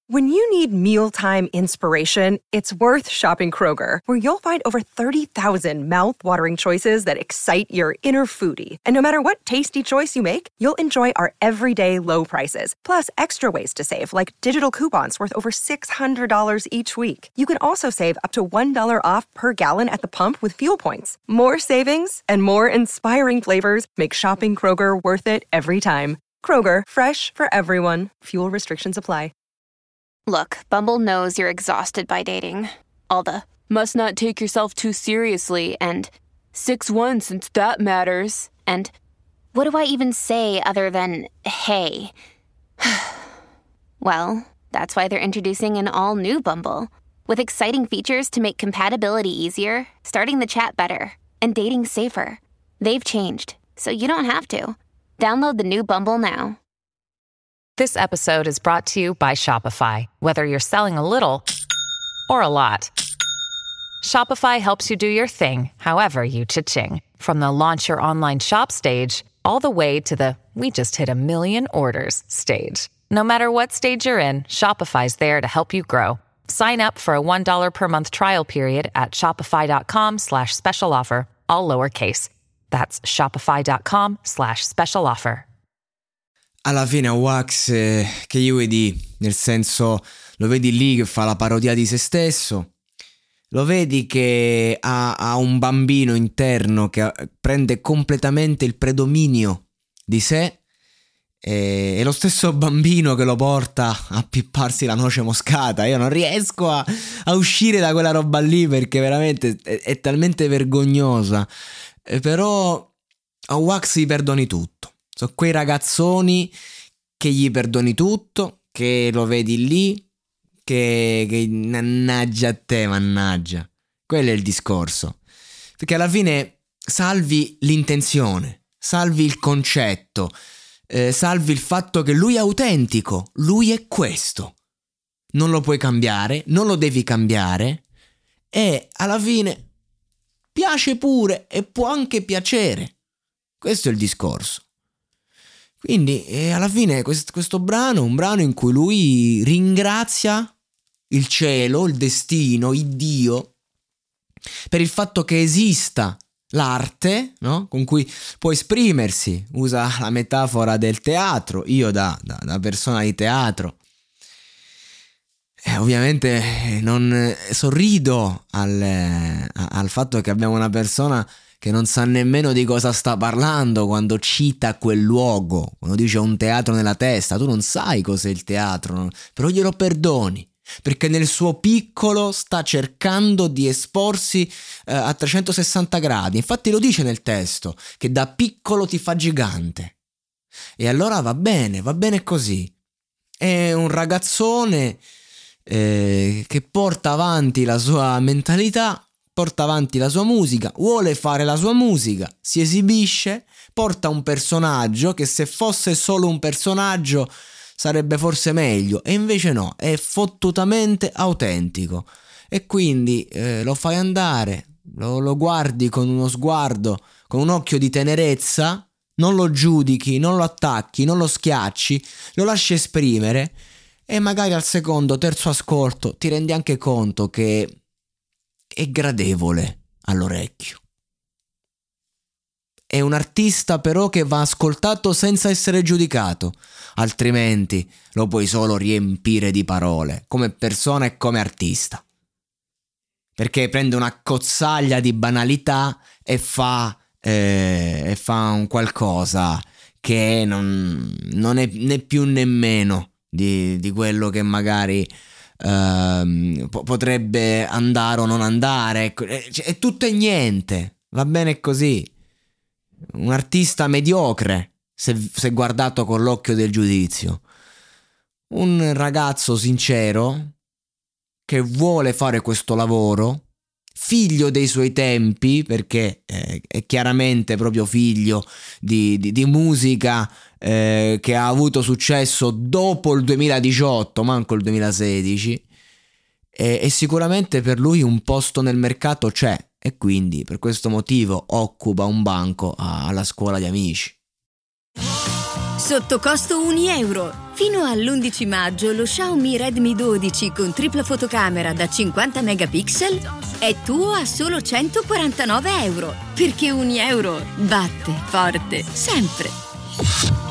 When you need mealtime inspiration, it's worth shopping Kroger, where you'll find over 30,000 mouth-watering choices that excite your inner foodie. And no matter what tasty choice you make, you'll enjoy our everyday low prices, plus extra ways to save, like digital coupons worth over $600 each week. You can also save up to $1 off per gallon at the pump with fuel points. More savings and more inspiring flavors make shopping Kroger worth it every time. Kroger, fresh for everyone. Fuel restrictions apply. Look, Bumble knows you're exhausted by dating. All the, must not take yourself too seriously, and 6'1" since that matters, and what do I even say other than, hey? Well, that's why they're introducing an all-new Bumble, with exciting features to make compatibility easier, starting the chat better, and dating safer. They've changed, so you don't have to. Download the new Bumble now. This episode is brought to you by Shopify. Whether you're selling a little or a lot, Shopify helps you do your thing, however you cha-ching. From the launch your online shop stage, all the way to the we just hit 1 million orders stage. No matter what stage you're in, Shopify's there to help you grow. Sign up for a $1 per month trial period at shopify.com/special offer, all lowercase. That's shopify.com/special offer. Alla fine Wax, che gli vuoi dire? Nel senso, lo vedi lì che fa la parodia di se stesso, lo vedi che ha un bambino interno che prende completamente il predominio di sé, e lo stesso bambino che lo porta a pipparsi la noce moscata. Io non riesco a uscire da quella roba lì, perché veramente è talmente vergognosa, però a Wax gli perdoni tutto. Sono quei ragazzoni che gli perdoni tutto, che lo vedi lì, che mannaggia a te, mannaggia. Quello è il discorso. Perché alla fine salvi l'intenzione, salvi il concetto, salvi il fatto che lui è autentico, lui è questo. Non lo puoi cambiare, non lo devi cambiare, e alla fine piace pure e può anche piacere. Questo è il discorso. Quindi alla fine questo brano è un brano in cui lui ringrazia il cielo, il destino, il Dio, per il fatto che esista l'arte, no? Con cui può esprimersi. Usa la metafora del teatro. Io da persona di teatro ovviamente non sorrido al fatto che abbiamo una persona che non sa nemmeno di cosa sta parlando quando cita quel luogo, quando dice un teatro nella testa. Tu non sai cos'è il teatro, però glielo perdoni, perché nel suo piccolo sta cercando di esporsi a 360 gradi. Infatti lo dice nel testo, che da piccolo ti fa gigante. E allora va bene così. È un ragazzone che porta avanti la sua mentalità, porta avanti la sua musica, vuole fare la sua musica, si esibisce, porta un personaggio che, se fosse solo un personaggio, sarebbe forse meglio, e invece no, è fottutamente autentico. E quindi lo fai andare, lo guardi con uno sguardo, con un occhio di tenerezza, non lo giudichi, non lo attacchi, non lo schiacci, lo lasci esprimere, e magari al secondo, terzo ascolto ti rendi anche conto che è gradevole all'orecchio. È un artista però che va ascoltato senza essere giudicato, altrimenti lo puoi solo riempire di parole, come persona e come artista. Perché prende una cozzaglia di banalità e fa un qualcosa che non è né più né meno di quello che magari potrebbe andare o non andare. Ecco, è tutto e niente, va bene così. Un artista mediocre, se guardato con l'occhio del giudizio. Un ragazzo sincero che vuole fare questo lavoro, figlio dei suoi tempi, perché è chiaramente proprio figlio di musica che ha avuto successo dopo il 2018, manco il 2016, e sicuramente per lui un posto nel mercato c'è, e quindi per questo motivo occupa un banco alla scuola di amici. Sotto costo €1. Fino all'11 maggio lo Xiaomi Redmi 12 con tripla fotocamera da 50 megapixel è tuo a solo €149. Perché €1 batte forte sempre.